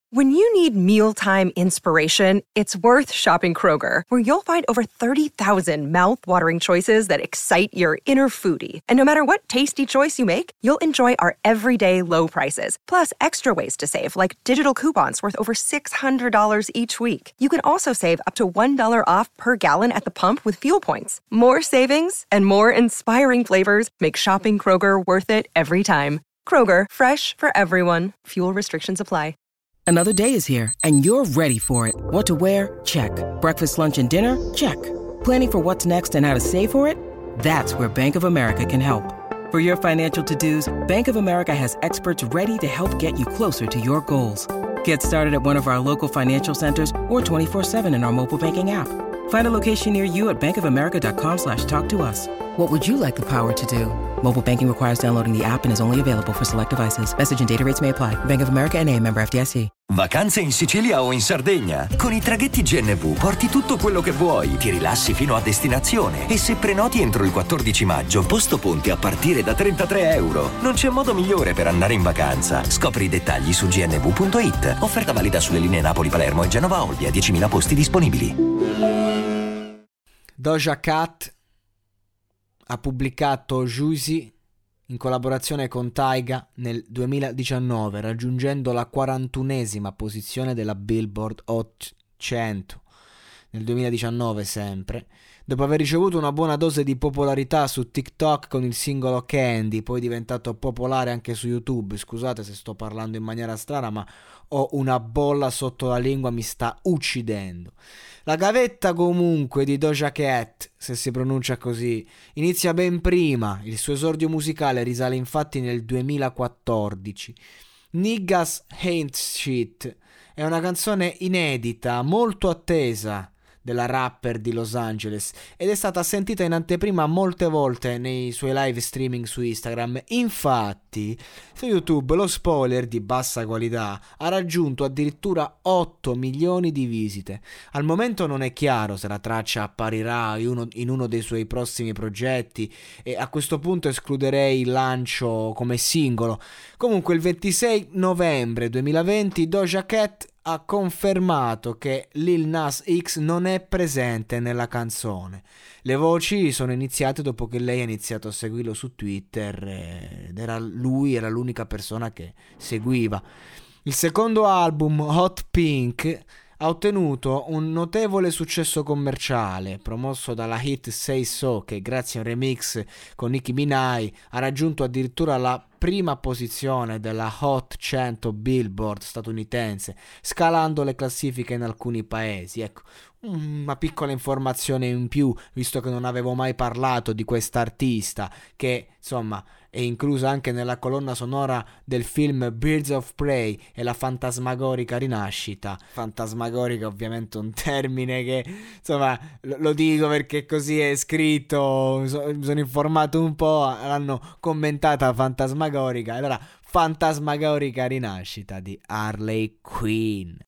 When you need mealtime inspiration, it's worth shopping Kroger, where you'll find over 30,000 mouth-watering choices that excite your inner foodie. And no matter what tasty choice you make, you'll enjoy our everyday low prices, plus extra ways to save, like digital coupons worth over $600 each week. You can also save up to $1 off per gallon at the pump with fuel points. More savings and more inspiring flavors make shopping Kroger worth it every time. Kroger, fresh for everyone. Fuel restrictions apply. Another day is here, and you're ready for it. What to wear? Check. Breakfast, lunch, and dinner? Check. Planning for what's next and how to save for it? That's where Bank of America can help. For your financial to-dos, Bank of America has experts ready to help get you closer to your goals. Get started at one of our local financial centers or 24/7 in our mobile banking app. Find a location near you at bankofamerica.com/talktous. What would you like the power to do? Mobile banking requires downloading the app and is only available for select devices. Message and data rates may apply. Bank of America N.A., member FDIC. Vacanze in Sicilia o in Sardegna? Con i traghetti GNV porti tutto quello che vuoi, ti rilassi fino a destinazione e se prenoti entro il 14 maggio, posto ponti a partire da €33. Non c'è modo migliore per andare in vacanza. Scopri i dettagli su gnv.it. Offerta valida sulle linee Napoli-Palermo e Genova-Olbia, 10.000 posti disponibili. Doja Cat ha pubblicato Juicy in collaborazione con Tyga nel 2019, raggiungendo la 41esima posizione della Billboard Hot 100 nel 2019 sempre, dopo aver ricevuto una buona dose di popolarità su TikTok con il singolo Candy, poi diventato popolare anche su YouTube. Scusate se sto parlando in maniera strana, ma ho una bolla sotto la lingua, mi sta uccidendo. La gavetta comunque di Doja Cat, se si pronuncia così, inizia ben prima. Il suo esordio musicale risale infatti nel 2014. Niggas Ain't Shit è una canzone inedita, molto attesa della rapper di Los Angeles ed è stata sentita in anteprima molte volte nei suoi live streaming su Instagram. Infatti su YouTube lo spoiler di bassa qualità ha raggiunto addirittura 8 milioni di visite. Al momento non è chiaro se la traccia apparirà in uno dei suoi prossimi progetti e a questo punto escluderei il lancio come singolo. Comunque il 26 novembre 2020 Doja Cat ha confermato che Lil Nas X non è presente nella canzone. Le voci sono iniziate dopo che lei ha iniziato a seguirlo su Twitter ed era l'unica persona che seguiva. Il secondo album, Hot Pink, ha ottenuto un notevole successo commerciale, promosso dalla hit Say So, che grazie a un remix con Nicki Minaj ha raggiunto addirittura la prima posizione della Hot 100 Billboard statunitense, scalando le classifiche in alcuni paesi. Ecco, una piccola informazione in più, visto che non avevo mai parlato di quest'artista, che insomma è inclusa anche nella colonna sonora del film Birds of Prey e la fantasmagorica rinascita. Fantasmagorica ovviamente un termine che insomma lo dico perché così è scritto, mi sono informato un po', l'hanno commentata fantasmagorica, allora fantasmagorica rinascita di Harley Quinn.